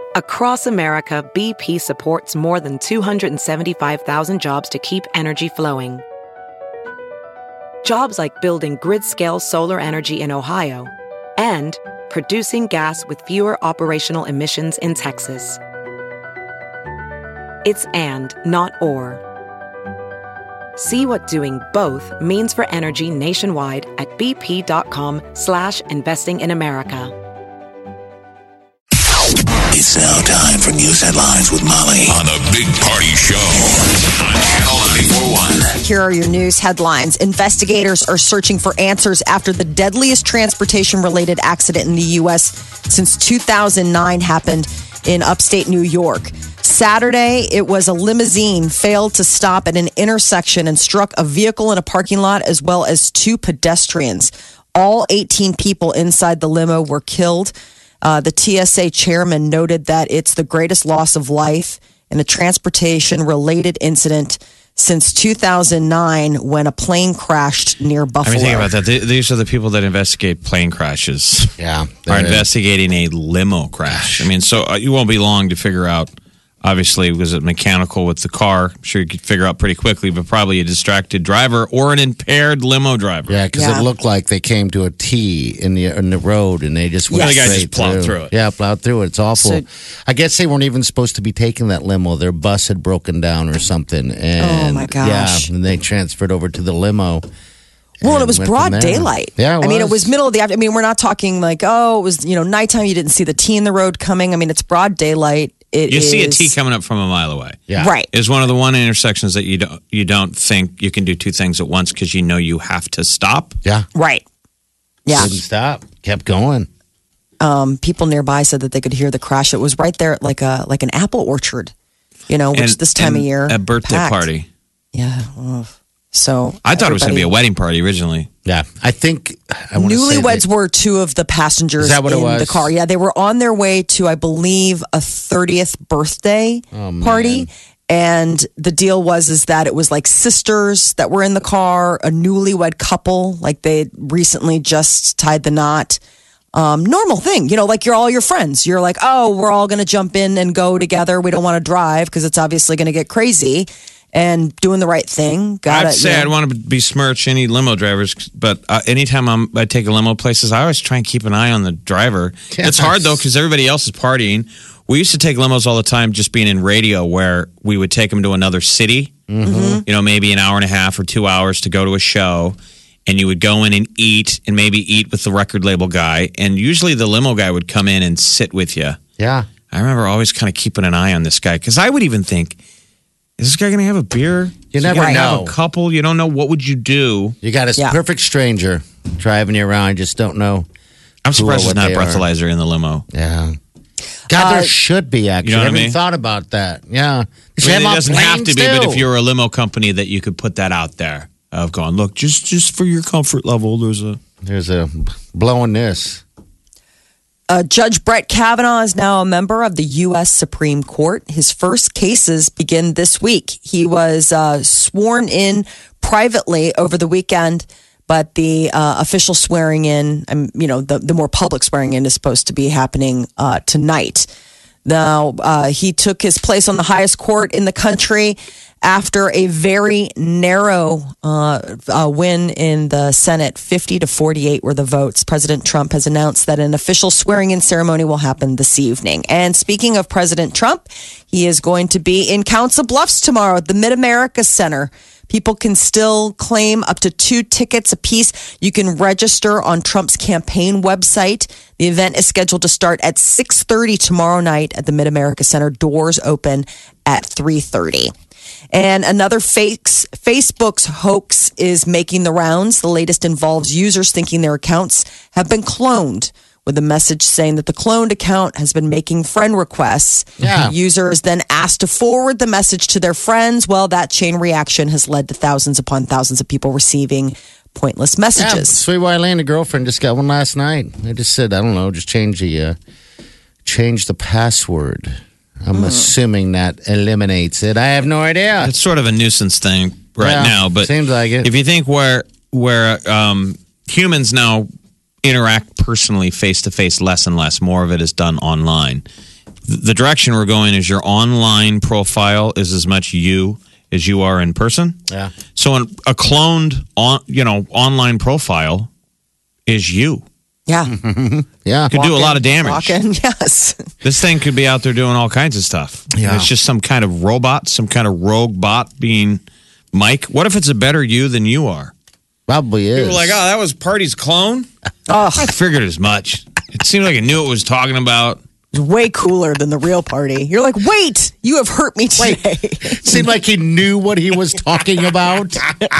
Across America, BP supports more than 275,000 jobs to keep energy flowing. Jobs like building grid-scale solar energy in Ohio and producing gas with fewer operational emissions in Texas. It's and, not or. See what doing both means for energy nationwide at bp.com/investing in America. It's now time for news headlines with Molly on the Big Party Show on Channel 941. Here are your news headlines. Investigators are searching for answers after the deadliest transportation-related accident in the U.S. since 2009 happened in upstate New York. Saturday, it was a limousine failed to stop at an intersection and struck a vehicle in a parking lot as well as two pedestrians. All 18 people inside the limo were killed. The TSA chairman noted that it's the greatest loss of life in a transportation-related incident since 2009 when a plane crashed near Buffalo. I mean, think about that. These are the people that investigate plane crashes. Yeah. Are investigating a limo crash. I mean, so you won't be long to figure out. Obviously, was it mechanical with the car? I'm sure you could figure out pretty quickly, but probably a distracted driver or an impaired limo driver. Yeah, because it looked like they came to a T in the road and they just went The guy straight just plowed through it. Yeah, plowed through it. It's awful. I guess they weren't even supposed to be taking that limo. Their bus had broken down or something. And, oh, my gosh. Yeah, and they transferred over to the limo. Well, and it was broad daylight. Yeah, I mean, it was middle of the afternoon. I mean, we're not talking like, it was, nighttime. You didn't see the T in the road coming. I mean, it's broad daylight. You see a T coming up from a mile away. Yeah. Right. It's one of the intersections that you don't think you can do two things at once because you know you have to stop. Yeah. Right. Yeah. Didn't stop. Kept going. People nearby said that they could hear the crash. It was right there at like an apple orchard, which this time of year. A birthday packed. party. Yeah. So I thought it was going to be a wedding party originally. Yeah. I think newlyweds were two of the passengers Is that what in it was? the car. Yeah, they were on their way to, I believe, a 30th birthday party. And the deal was that it was like sisters that were in the car, a newlywed couple, like they recently just tied the knot. Normal thing, like you're all your friends. You're like, oh, we're all going to jump in and go together. We don't want to drive because it's obviously going to get crazy. And doing the right thing. I'd say I'd want to besmirch any limo drivers, but anytime I take a limo places, I always try and keep an eye on the driver. Yes. It's hard though because everybody else is partying. We used to take limos all the time, just being in radio, where we would take them to another city. Mm-hmm. Maybe an hour and a half or 2 hours to go to a show, and you would go in and eat with the record label guy, and usually the limo guy would come in and sit with you. Yeah. I remember always kind of keeping an eye on this guy because I would even think, is this guy going to have a beer? You never know. Have a couple. You don't know. What would you do? You got a perfect stranger driving you around. You just don't know. I'm surprised there's not a breathalyzer in the limo. Yeah. God, there should be, actually. You know what I haven't I mean? thought about that. Yeah. It doesn't have to be, but if you're a limo company, that you could put that out there of going, look, just for your comfort level, there's a blowing this. Judge Brett Kavanaugh is now a member of the U.S. Supreme Court. His first cases begin this week. He was sworn in privately over the weekend, but the official swearing in, the more public swearing in is supposed to be happening tonight. Now, he took his place on the highest court in the country after a very narrow win in the Senate. 50-48 were the votes. President Trump has announced that an official swearing-in ceremony will happen this evening. And speaking of President Trump, he is going to be in Council Bluffs tomorrow at the Mid-America Center. People can still claim up to 2 tickets apiece. You can register on Trump's campaign website. The event is scheduled to start at 6:30 tomorrow night at the Mid-America Center. Doors open at 3:30. And another Facebook's hoax is making the rounds. The latest involves users thinking their accounts have been cloned, with a message saying that the cloned account has been making friend requests. Yeah. The user is then asked to forward the message to their friends. Well, that chain reaction has led to thousands upon thousands of people receiving pointless Yeah, messages. Sweet Wileen, a girlfriend, just got one last night. I just said, I don't know, just change the password. I'm assuming that eliminates it. I have no idea. It's sort of a nuisance thing now, but seems like it. If you think where humans now interact personally face to face less and less, more of it is done online. the direction we're going is your online profile is as much you as you are in person. Yeah. So a cloned online profile is you. Yeah. Yeah. Could do a lot of damage. Walking, yes. This thing could be out there doing all kinds of stuff. Yeah. It's just some kind of robot, some kind of rogue bot being Mike. What if it's a better you than you are? Probably is. People are like, oh, that was Party's clone? Oh, I figured as much. It seemed like it knew what it was talking about. it's way cooler than the real Party. You're like, wait, you have hurt me today. Seemed like he knew what he was talking about.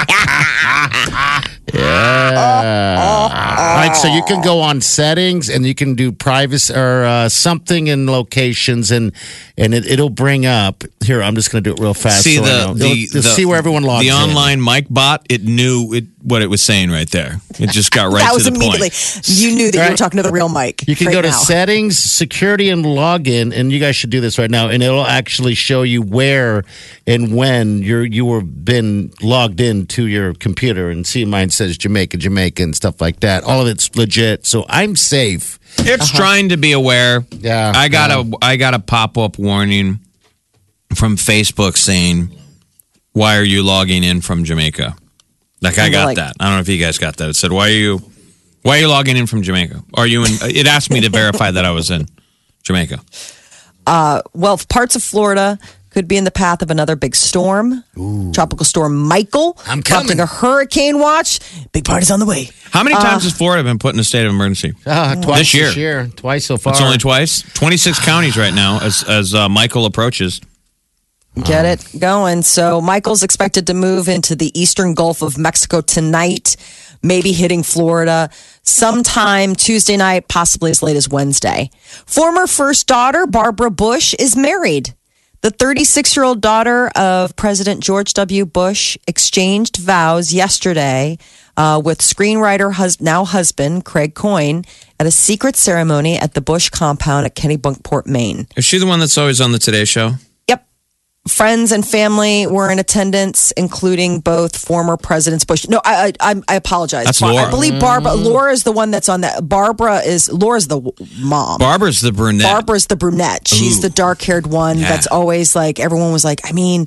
Yeah. All right, so you can go on settings and you can do privacy or something in locations, and it'll bring up here. I'm just going to do it real fast. See so see where everyone logs the in. online Mike bot. It knew what it was saying right there. It just got right that to was the immediately. point. You knew that you were Right. talking to the real Mike. You can right go to now. settings, security, and login, and you guys should do this right now. And it'll actually show you where and when you were been logged into your computer. And see, mine says Jamaica, and stuff like that. All of it's legit, so I'm safe. It's trying to be aware. Yeah, I got a pop up warning from Facebook saying, "Why are you logging in from Jamaica?" Like I got that. I don't know if you guys got that. It said, "Why are you logging in from Jamaica? Are you in?" It asked me to verify that I was in Jamaica. Well, parts of Florida could be in the path of another big storm. Tropical storm Michael. I'm coming. Adopting a hurricane watch. Big party's on the way. How many times has Florida been put in a state of emergency? Twice This year. Twice so far. It's only twice. 26 counties right now as Michael approaches. Get it going. So Michael's expected to move into the eastern Gulf of Mexico tonight, maybe hitting Florida sometime Tuesday night, possibly as late as Wednesday. Former first daughter, Barbara Bush, is married. The 36-year-old daughter of President George W. Bush exchanged vows yesterday with screenwriter, now husband, Craig Coyne, at a secret ceremony at the Bush compound at Kennebunkport, Maine. Is she the one that's always on the Today Show? Yep. Friends and family were in attendance, including both former presidents Bush. No, I apologize. That's Laura. I believe Barbara. Laura is the one that's on that. Laura's the mom. Barbara's the brunette. Barbara's the brunette. She's Ooh. the dark-haired one Yeah. that's always like, everyone was like, I mean,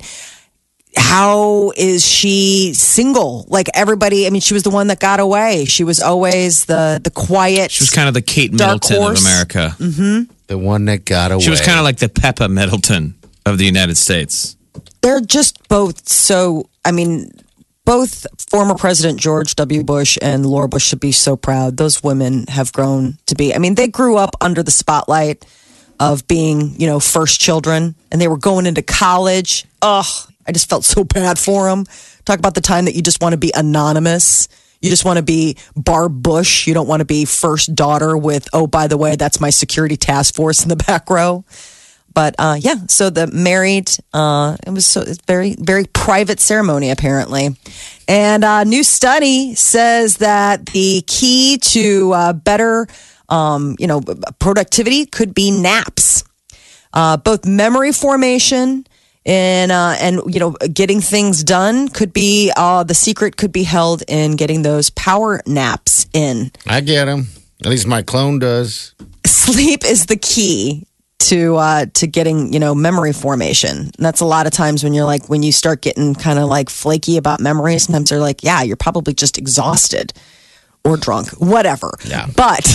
how is she single? Like everybody, I mean, she was the one that got away. She was always the quiet. She was kind of the Kate Dark Middleton of horse. America. the one that got away. She was kind of like the Peppa Middleton of the United States. They're just both so, I mean, both former President George W. Bush and Laura Bush should be so proud. Those women have grown to be, I mean, they grew up under the spotlight of being, first children, and they were going into college. Ugh, I just felt so bad for them. Talk about the time that you just want to be anonymous. You just want to be Barb Bush. You don't want to be first daughter with, oh, by the way, that's my security task force in the back row. But so the married, it was it's very, very private ceremony, apparently. And a new study says that the key to better, productivity could be naps. Both memory formation and getting things done could be, the secret could be held in getting those power naps in. I get him. At least my clone does. Sleep is the key to getting, memory formation. And that's a lot of times when when you start getting kind of like flaky about memory, sometimes they're like, yeah, you're probably just exhausted or drunk, whatever. Yeah. But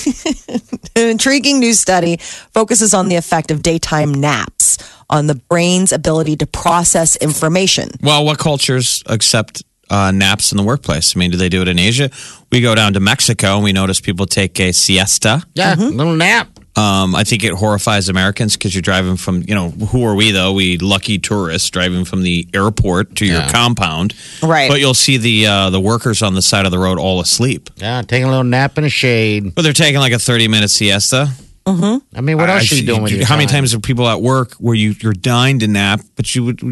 an intriguing new study focuses on the effect of daytime naps on the brain's ability to process information. Well, what cultures accept naps in the workplace? I mean, do they do it in Asia? We go down to Mexico and we notice people take a siesta. Yeah, little nap. I think it horrifies Americans because you're driving from, who are we though? We lucky tourists driving from the airport to your compound. Right. But you'll see the workers on the side of the road all asleep. Yeah, taking a little nap in the shade. But they're taking like a 30-minute siesta. I mean, what else are you doing with your How many time? times are people at work where you're dying to nap, but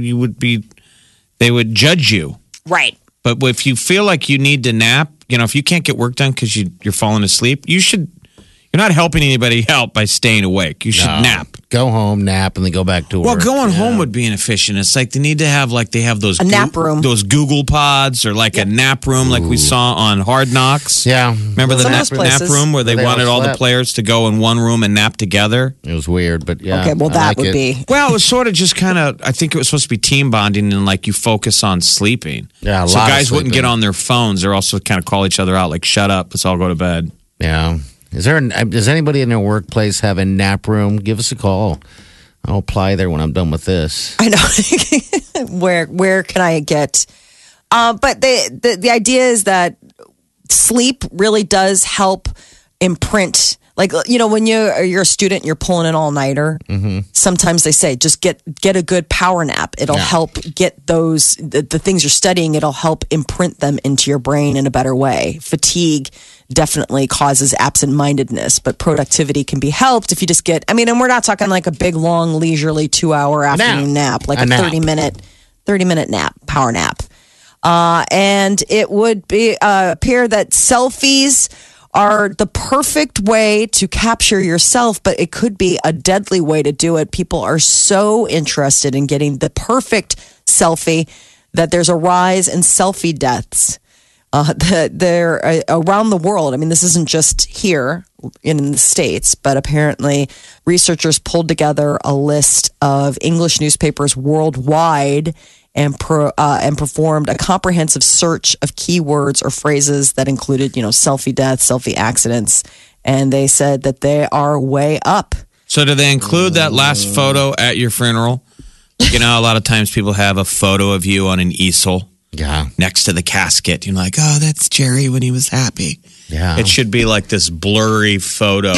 they would judge you. Right. But if you feel like you need to nap, if you can't get work done because you're falling asleep, you're not helping anybody out by staying awake. You should nap. go home, nap, and then go back to work. Well, going home would be inefficient. It's like they need to have they have those nap room. those Google Pods, or like a nap room, like we saw on Hard Knocks. Yeah. Remember the Some of nap those places. room where they Where they wanted all the slept. players to go in one room and nap together? It was weird, but yeah. Okay, well, I that like would it. be. Well, it was sort of just kind of. I think it was supposed to be team bonding, and like you focus on sleeping. Yeah, a so lot of guys wouldn't sleeping. get on their phones. They're also kind of call each other out, like "Shut up, let's all go to bed." Yeah. Does anybody in their workplace have a nap room? Give us a call. I'll apply there when I'm done with this. I know. Where can I get? But the idea is that sleep really does help imprint. Like, when you're a student, you're pulling an all nighter. Mm-hmm. Sometimes they say just get a good power nap. It'll help get the things you're studying. It'll help imprint them into your brain in a better way. Fatigue definitely causes absent-mindedness, but productivity can be helped if you just get. And we're not talking like a big, long, leisurely 2-hour afternoon nap, like a 30-minute nap, power nap. And it would appear that selfies are the perfect way to capture yourself, but it could be a deadly way to do it. People are so interested in getting the perfect selfie that there's a rise in selfie deaths. They're around the world. This isn't just here in the States, but apparently researchers pulled together a list of English newspapers worldwide and performed a comprehensive search of keywords or phrases that included, selfie death, selfie accidents, and they said that they are way up. So, do they include that last photo at your funeral? A lot of times people have a photo of you on an easel. Yeah. Next to the casket. You're like, oh, that's Jerry when he was happy. Yeah. It should be like this blurry photo.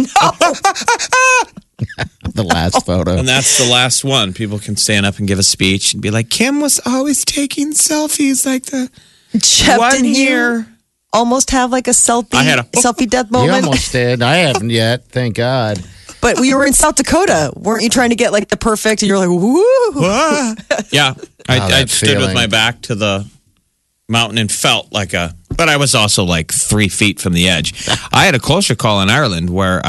The last photo. And that's the last one. People can stand up and give a speech and be like, Kim was always taking selfies like the Jeff, one didn't you year. almost have like a selfie death You moment? almost did. I haven't yet. Thank God. But we were in South Dakota. Weren't you trying to get like the perfect? And you're like, woo. Yeah. I that stood feeling. with my back to the mountain and felt like but I was also like 3 feet from the edge. I had a closer call in Ireland where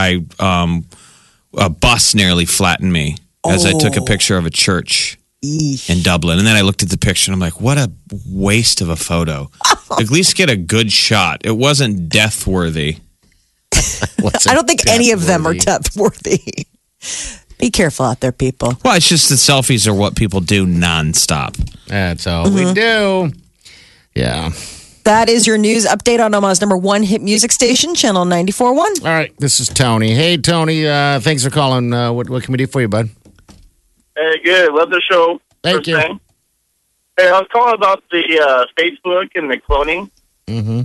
a bus nearly flattened me as I took a picture of a church in Dublin. And then I looked at the picture and I'm like, what a waste of a photo. At least get a good shot. It wasn't death worthy. I don't think any of them are death worthy. Be careful out there, people. Well, it's just that selfies are what people do nonstop. That's all we do. Yeah. That is your news update on Omaha's #1 hit music station, Channel 94.1. All right. This is Tony. Hey, Tony. Thanks for calling. What can we do for you, bud? Hey, good. Love the show. Thank First you. thing. Hey, I was calling about the Facebook and the cloning. Mm-hmm.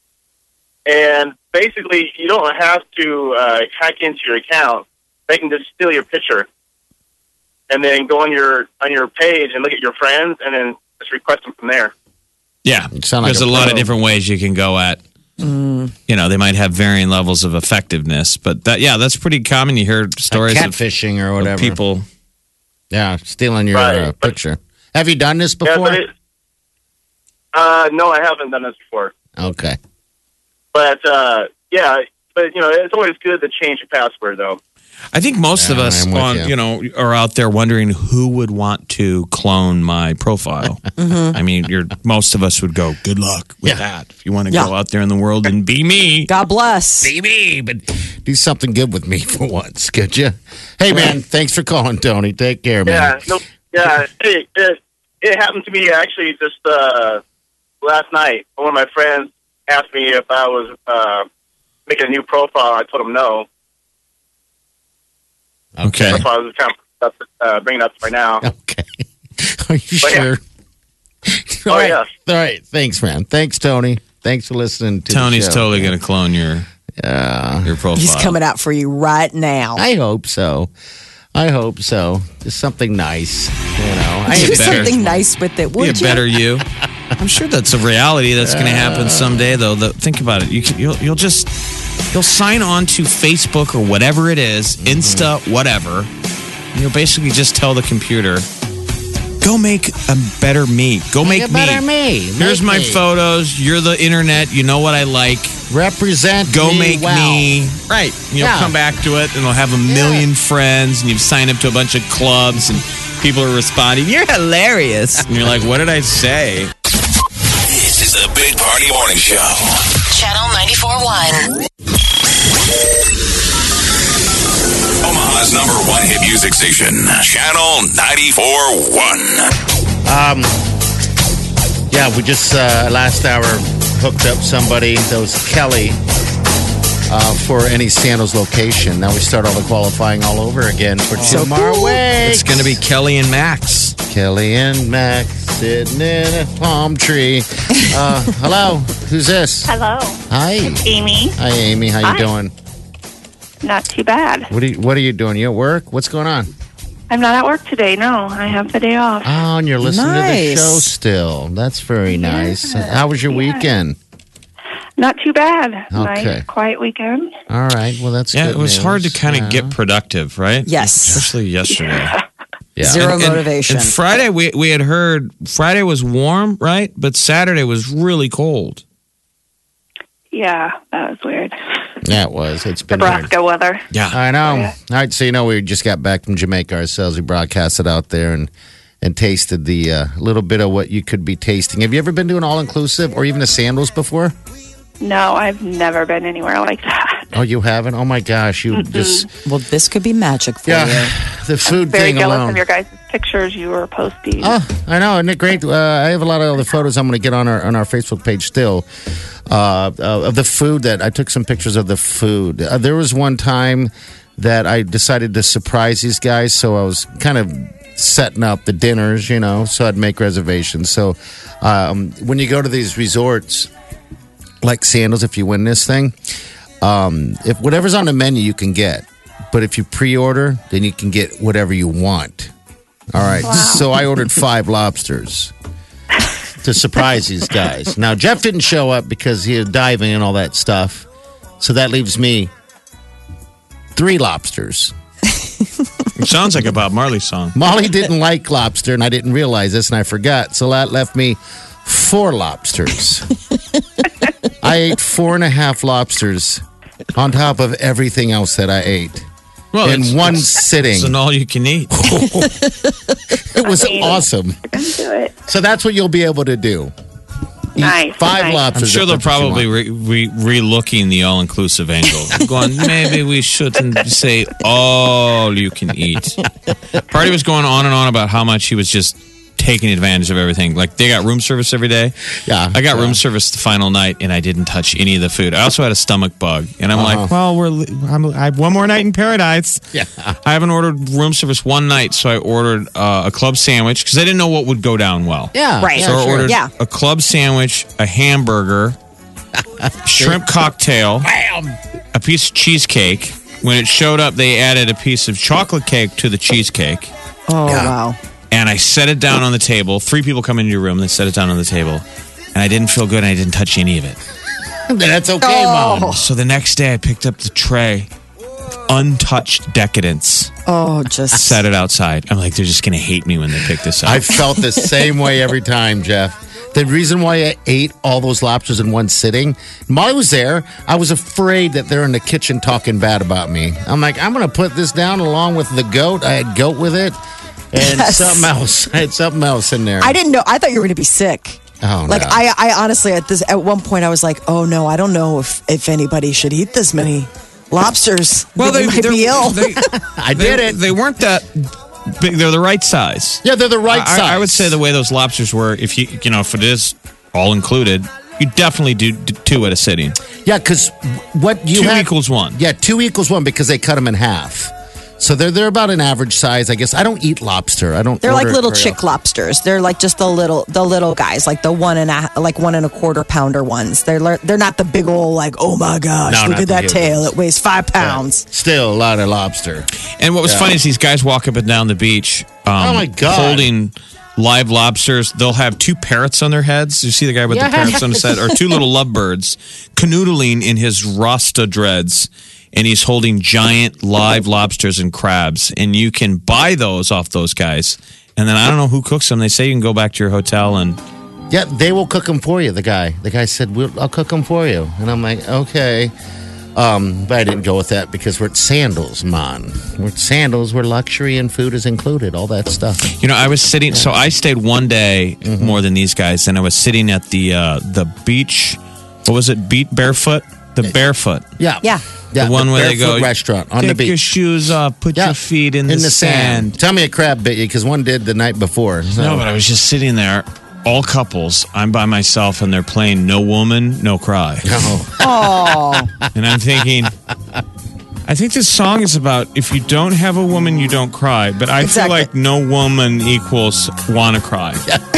And basically, you don't have to hack into your account. They can just steal your picture, and then go on your page and look at your friends, and then just request them from there. Yeah. You sound like There's a a lot pro. of different ways you can go at. They might have varying levels of effectiveness, but that's pretty common. You hear stories Like of catfishing or whatever. people. Yeah, stealing your Right. picture. Have you done this Yeah, before? but no, I haven't done this before. Okay. But it's always good to change your password, though. I think most of Yeah, us I'm with you. are out there wondering who would want to clone my profile. I mean, most of us would go, good luck with that. If you want to go out there in the world and be me. God bless. Be me, but do something good with me for once, could you? Hey, man, thanks for calling, Tony. Take care, man. Hey, it happened to me actually just last night. One of my friends asked me if I was making a new profile. I told him no. Okay. That's why I was kind of bringing it up right now. Okay. Are you But yeah. sure? Oh, All right. yes. All right. Thanks, man. Thanks, Tony. Thanks for listening to Tony's the show. totally going to clone your profile. He's coming out for you right now. I hope so. Just something nice, I Do ain't better. something nice with it, Be would a you? better you. I'm sure that's a reality that's going to happen someday, though. Think about it. You'll sign on to Facebook or whatever it is, Insta, whatever. And you'll basically just tell the computer, Go make a better me. Go make a better me. Here's Make my me. photos. You're the internet. You know what I like. Represent Go me make well. me. Right. You'll Yeah. come back to it and you'll have a million friends and you've signed up to a bunch of clubs and people are responding. You're hilarious. And you're like, what did I say? This is the Big Party Morning Show. Channel 94.1. Omaha's #1 hit music station. Channel 94.1. Yeah, we just last hour hooked up somebody. That was Kelly for any Sandals location. Now we start all the qualifying all over again for tomorrow week. It's going to be Kelly and Max. Kelly and Max sitting in a palm tree. Hello, who's this? Hello, Hi. Amy. Hi, Amy. How you Hi. doing? Not too bad. What are you doing? You at work? What's going on? I'm not at work today. No, I have the day off. Oh, and you're listening to the Nice. show still. That's very nice. How was your weekend? Not too bad. Okay. Nice, quiet weekend. All right. Well, that's Yeah, good it was news. hard to kind of Yeah. get productive, right? Yes. Especially yesterday. Yeah. Zero And- motivation. And Friday, we had heard Friday was warm, right? But Saturday was really cold. Yeah, that was weird. Yeah, it was. It's been weird. Nebraska weather. Yeah. I know. Yeah. All right, so we just got back from Jamaica ourselves. We broadcasted out there and tasted the little bit of what you could be tasting. Have you ever been to an all-inclusive or even a Sandals before? No, I've never been anywhere like that. Oh, you haven't? Oh, my gosh. You just... Well, this could be magic for Yeah, you. the food Very thing jealous alone. of your guys' pictures you were posting. Oh, I know. Isn't it great? I have a lot of other photos I'm going to get on our Facebook page still of the food that I took some pictures of the food. There was one time that I decided to surprise these guys, so I was kind of setting up the dinners, so I'd make reservations. So when you go to these resorts like Sandals, if you win this thing, if whatever's on the menu you can get, but if you pre-order, then you can get whatever you want. All right. So I ordered 5 lobsters to surprise these guys. Now, Jeff didn't show up because he was diving and all that stuff. So that leaves me 3 lobsters. It sounds like a Bob Marley song. Molly didn't like lobster, and I didn't realize this, and I forgot. So that left me 4 lobsters. I ate 4.5 lobsters on top of everything else that I ate. Well, in one sitting. It's an all you can eat. It was awesome. You're going to do it. So that's what you'll be able to do. Eat Nice, 5 nice. lobsters. I'm sure if they're that's what you probably want. re-looking the all-inclusive angle. Going, maybe we shouldn't say all you can eat. Party was going on and on about how much he was just taking advantage of everything. Like, they got room service every day. Yeah. I got room service the final night, and I didn't touch any of the food. I also had a stomach bug, and I'm like, well, I have one more night in paradise. Yeah. I haven't ordered room service one night, so I ordered a club sandwich because I didn't know what would go down well. Yeah. Right. Yeah, So I sure. ordered Yeah. a club sandwich, a hamburger, shrimp cocktail, a piece of cheesecake. When it showed up, they added a piece of chocolate cake to the cheesecake. Oh, wow. And I set it down on the table. 3 people come into your room. They set it down on the table. And I didn't feel good, and I didn't touch any of it. That's okay, Mom. So the next day, I picked up the tray, untouched decadence, Oh, just set it outside. I'm like, they're just going to hate me when they pick this up. I felt the same way every time, Jeff. The reason why I ate all those lobsters in one sitting, Molly was there. I was afraid that they're in the kitchen talking bad about me. I'm like, I'm going to put this down along with the goat. I had goat with it and Yes. something else. I had something else in there. I didn't know. I thought you were going to be sick. Oh, Like no. I honestly at one point I was like, oh no, I don't know if anybody should eat this many lobsters. They might be ill. I did it. They weren't that big. They're the right size. Yeah, they're the right size. I would say the way those lobsters were, if if it is all included, you definitely do 2 at a sitting. Yeah, because what you 2 have equals 1. Yeah, 2 equals 1 because they cut them in half. So they're about an average size, I guess. I don't eat lobster. I don't. They're like order it little very chick often. lobsters. They're like just the little guys, like the 1 1/4 pounder ones. They're not the big old like, oh my gosh, No, look not at the that huge tail. ones. It weighs 5 pounds. Still a lot of lobster. And what was funny is these guys walk up and down the beach, Oh, my God. holding live lobsters. They'll have 2 parrots on their heads. You see the guy with the parrots on his head, or 2 little lovebirds canoodling in his Rasta dreads. And he's holding giant live lobsters and crabs. And you can buy those off those guys And then I don't know who cooks them. They say you can go back to your hotel and Yeah, they will cook them for you. The guy said, I'll cook them for you. And I'm like, okay. But I didn't go with that because we're at Sandals, man. We're at Sandals where luxury and food is included, all that stuff. You know, I was sitting. So I stayed one day more than these guys, and I was sitting at the beach. What was it? Barefoot. The Barefoot. Yeah. The one where they go restaurant on the take beach. your shoes off, put your feet in the sand. Tell me a crab bit you because one did the night before. So. No, but I was just sitting there. All couples. I'm by myself, and they're playing "No Woman, No Cry." Oh. And I'm thinking, I think this song is about if you don't have a woman, you don't cry. But I feel like no woman equals wanna cry.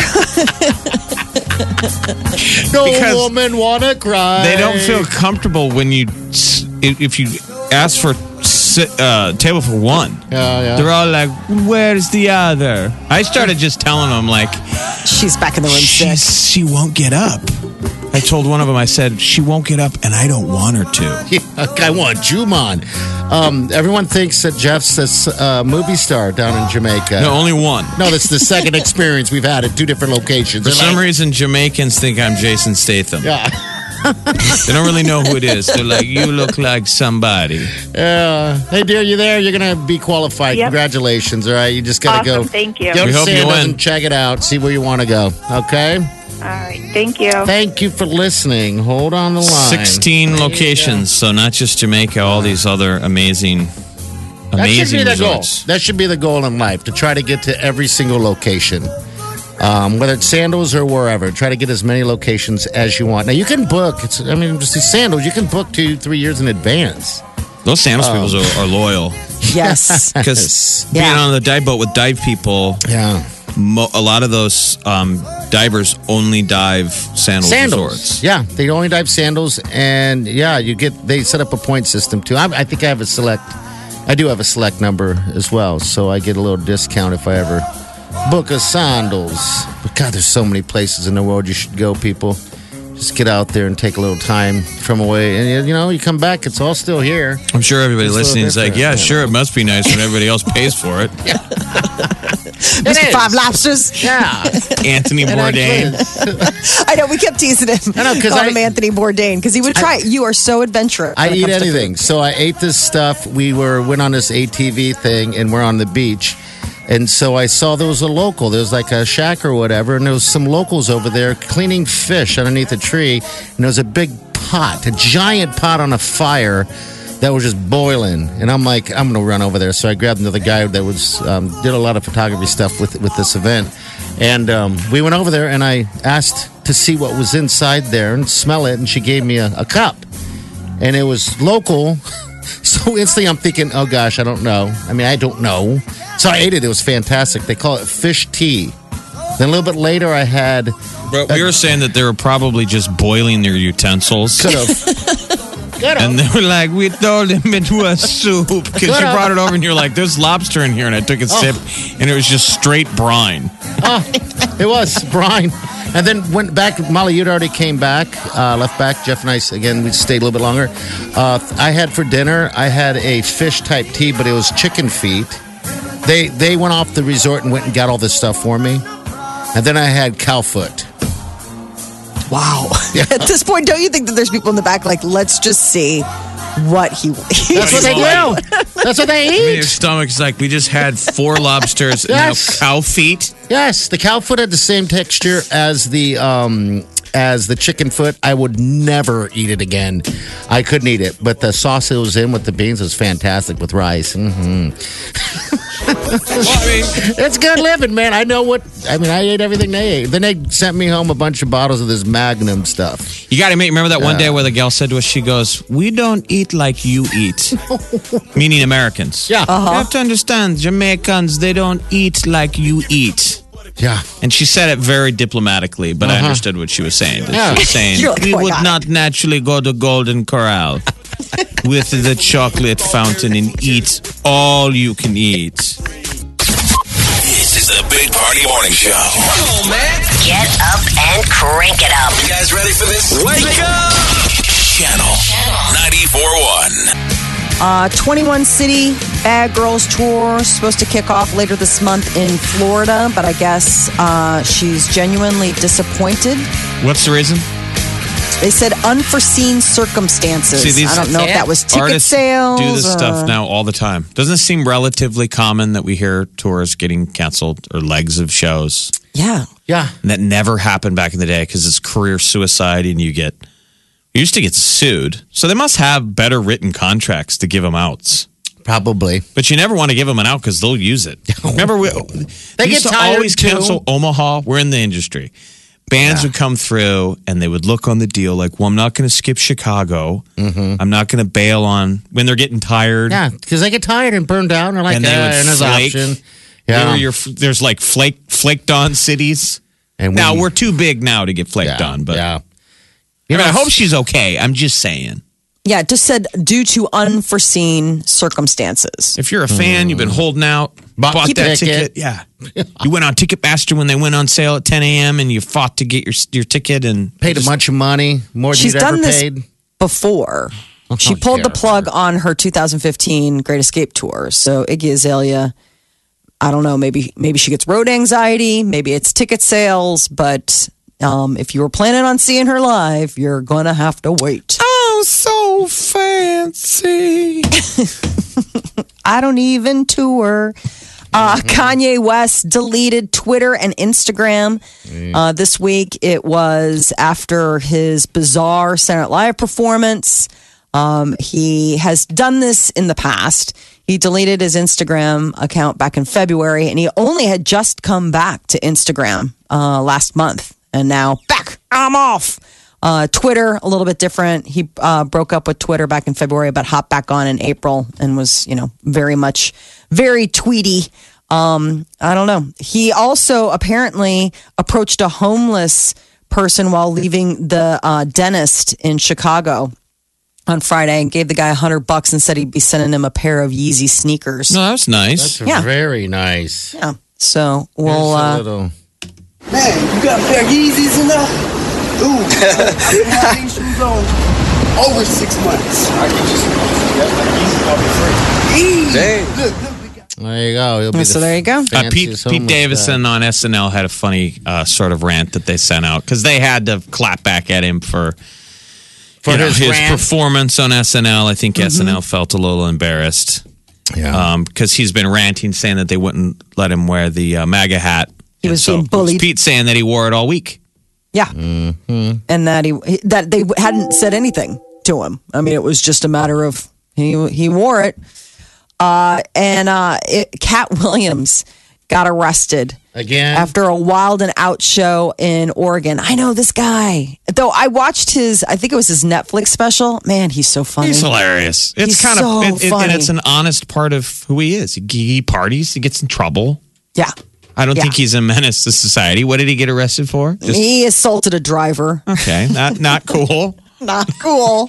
No woman wanna cry. They don't feel comfortable when if you ask for table for one. Yeah. They're all like, "Where's the other?" I started just telling them like, she's back in the room sick. She won't get up. I told one of them, I said, she won't get up, and I don't want her to. I want Juman. Everyone thinks that Jeff's a movie star down in Jamaica. No, only one. No, that's the second experience we've had at two different locations. For some reason, Jamaicans think I'm Jason Statham. Yeah. They don't really know who it is. They're like, you look like somebody. Hey, dear, you there? You're going to be qualified. Yep. Congratulations, all right? You just got to go. Thank you. Go We to hope you Sandals win. and check it out. See where you want to go, okay? All right. Thank you. Thank you for listening. Hold on the line. 16 locations, so not just Jamaica, all these other amazing That should be the resorts. goal. That should be the goal in life, to try to get to every single location. Whether it's Sandals or wherever, try to get as many locations as you want. Now, you can book. Just these Sandals, you can book 2-3 years in advance. Those Sandals people are loyal. Yes. Because being on the dive boat with dive people, Yeah. a lot of those divers only dive Sandals resorts. Yeah, they only dive Sandals, and yeah, they set up a point system too. I think I do have a select number as well, so I get a little discount if I ever book a Sandals. But God, there's so many places in the world you should go, people. Just get out there and take a little time from away, and you come back, it's all still here. I'm sure everybody It's a little listening is like, different. yeah, sure, it must be nice when everybody else pays for it. Mr. Five Lobsters. Yeah. Anthony Bourdain. I know, we kept teasing him. I know, 'cause Called him Anthony Bourdain because he would try it. You are so adventurous. I when it eat comes to anything. food. So I ate this stuff. We went on this ATV thing, and we're on the beach. And so I saw there was a local. There was like a shack or whatever, and there was some locals over there cleaning fish underneath a tree. And there was a big pot, a giant pot on a fire that was just boiling. And I'm like, I'm going to run over there. So I grabbed another guy that was did a lot of photography stuff with this event. And we went over there, and I asked to see what was inside there and smell it. And she gave me a cup. And it was local. So instantly I'm thinking, oh gosh, I don't know. I don't know. So I ate it. It was fantastic. They call it fish tea. Then a little bit later I had... But we were saying that they were probably just boiling their utensils. Could have. And they were like, we throw them into a soup. Because you brought it over and you're like, there's lobster in here. And I took a sip and it was just straight brine. It was brine. And then went back. Molly, you'd already came back, left back. Jeff and I, again, we stayed a little bit longer. I had for dinner, I had a fish type tea, but it was chicken feet. They went off the resort and went and got all this stuff for me. And then I had cow foot. Wow. At this point, don't you think that there's people in the back like, let's just see what he That's what they do. That's what they I mean, your eat. stomach's like, we just had 4 lobsters and Yes. now cow feet. Yes, the cow foot had the same texture as the chicken foot. I would never eat it again. I couldn't eat it, but the sauce it was in with the beans was fantastic with rice. It's good living, man. I ate everything they ate. Then they sent me home a bunch of bottles of this Magnum stuff. You got to remember that one day where the gal said to us, she goes, we don't eat like you eat. Meaning Americans. Yeah. You have to understand, Jamaicans, they don't eat like you eat. Yeah. And she said it very diplomatically, but I understood what she was saying. That Yeah. She was saying, You're like, we oh my would God. not naturally go to Golden Corral with the chocolate fountain and eat all you can eat. This is the Big Party Morning Show. Come on, man. Get up and crank it up. You guys ready for this? Wake up! Channel 94.1. 21 city Bad Girls Tour is supposed to kick off later this month in Florida, but I guess she's genuinely disappointed. What's the reason? They said unforeseen circumstances. See, I don't know if that was ticket Artists sales. do this stuff now all the time. Doesn't it seem relatively common that we hear tours getting canceled or legs of shows? Yeah. Yeah. And that never happened back in the day because it's career suicide and you used to get sued. So they must have better written contracts to give them outs. Probably. But you never want to give them an out because they'll use it. Remember, we They used get to tired, always too. cancel Omaha. We're in the industry. Bands would come through and they would look on the deal like, well, I'm not going to skip Chicago. I'm not going to bail on when they're getting tired. Yeah, because they get tired and burned out. And they're like, And they would there's flake. option. There Yeah. there's like flaked on cities. And Now, we're too big now to get flaked yeah, on. But yeah. I, mean, I hope she's okay. I'm just saying. Yeah, it just said due to unforeseen circumstances. If you're a fan, you've been holding out, bought Keep that it. ticket. Yeah. You went on Ticketmaster when they went on sale at 10 a.m. and you fought to get your ticket and Paid a bunch of money, more than She's you'd done ever this paid. before. She pulled the plug on her 2015 Great Escape tour. So Iggy Azalea, I don't know, maybe she gets road anxiety, maybe it's ticket sales, but if you were planning on seeing her live, you're going to have to wait. oh, so fancy. I don't even tour. Kanye West deleted Twitter and Instagram this week. It was after his bizarre Saturday Night Live performance. He has done this in the past. He deleted his Instagram account back in February, and he only had just come back to Instagram last month. And now back, I'm off. Twitter, a little bit different. He broke up with Twitter back in February, but hopped back on in April and was, very tweety. I don't know. He also apparently approached a homeless person while leaving the dentist in Chicago on Friday and gave the guy $100 and said he'd be sending him a pair of Yeezy sneakers. No, that's nice. That's Yeah. very nice. Yeah. So we'll. Here's a little. Man, you got a pair of Yeezys in there? Ooh, I've been having these shoes on over 6 months. I can just Yeezys free. Look, we got. There you go. He'll be So there you go. Pete fanciest homeless Davidson on SNL had a funny sort of rant that they sent out because they had to clap back at him for his rant. performance on SNL. I think SNL felt a little embarrassed Yeah. because he's been ranting, saying that they wouldn't let him wear the MAGA hat. He was being it was bullied. Pete saying that he wore it all week. Yeah. And that that they hadn't said anything to him. I mean, it was just a matter of he wore it. Cat Williams got arrested Again. after a Wild and Out show in Oregon. I know this guy. Though I watched I think it was his Netflix special. Man, he's so funny. He's hilarious. It's He's kind so of funny. and it's an honest part of who he is. He parties. He gets in trouble. Yeah. I don't Yeah. think he's a menace to society. What did he get arrested for? Just, He assaulted a driver. okay, not cool. Not cool.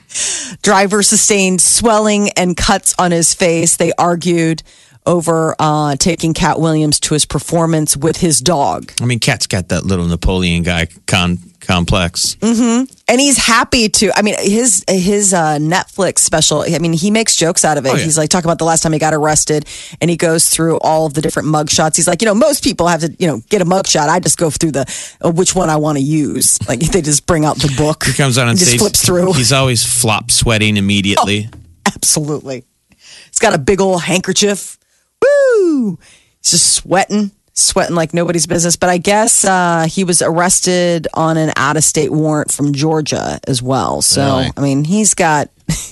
Driver sustained swelling and cuts on his face. They argued over taking Cat Williams to his performance with his dog. I mean, Cat's got that little Napoleon guy complex. And he's happy to. I mean, his Netflix special. I mean, he makes jokes out of it. Oh, yeah. He's like talking about the last time he got arrested, and he goes through all of the different mug shots. He's like, most people have to, get a mug shot. I just go through the which one I want to use. Like they just bring out the book. He comes out on and just stage. flips through. He's always flop sweating immediately. Absolutely. He's got a big old handkerchief. Woo! He's just sweating like nobody's business. But I guess he was arrested on an out-of-state warrant from Georgia as well. So, Really? I mean, he's got...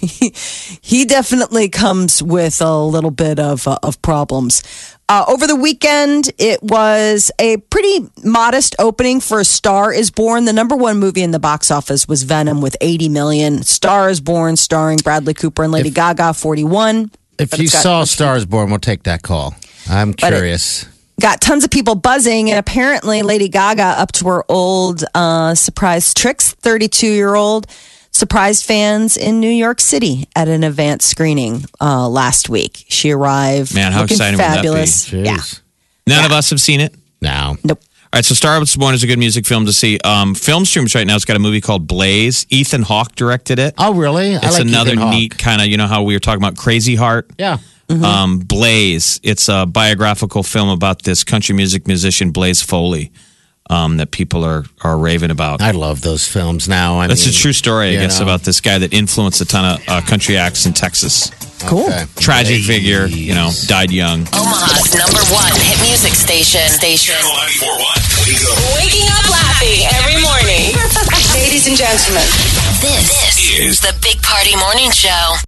he definitely comes with a little bit of problems. Over the weekend, it was a pretty modest opening for A Star is Born. The number one movie in the box office was Venom with 80 million. Star is Born, starring Bradley Cooper and Lady Gaga, 41. If But you it's got- saw Stars Born, we'll take that call. I'm curious. Got tons of people buzzing, and apparently Lady Gaga, up to her old surprise tricks, 32-year-old, surprised fans in New York City at an event screening last week. She arrived Man, how looking exciting would that be? fabulous. Jeez. Yeah. None of us have seen it. Now. Nope. All right, so Star is Born is a good music film to see. Film Streams right now has got a movie called Blaze. Ethan Hawke directed it. Oh, really? It's another Ethan Hawke. neat kind of, how we were talking about Crazy Heart. Yeah. Blaze. It's a biographical film about this country music musician, Blaze Foley, that people are raving about. I love those films now. That's a true story, I guess, about this guy that influenced a ton of country acts in Texas. Cool. Okay. Tragic figure, died young. Omaha's #1 hit music station. Channel 94.1. Waking up laughing every morning. Ladies and gentlemen, This is the Big Party Morning Show.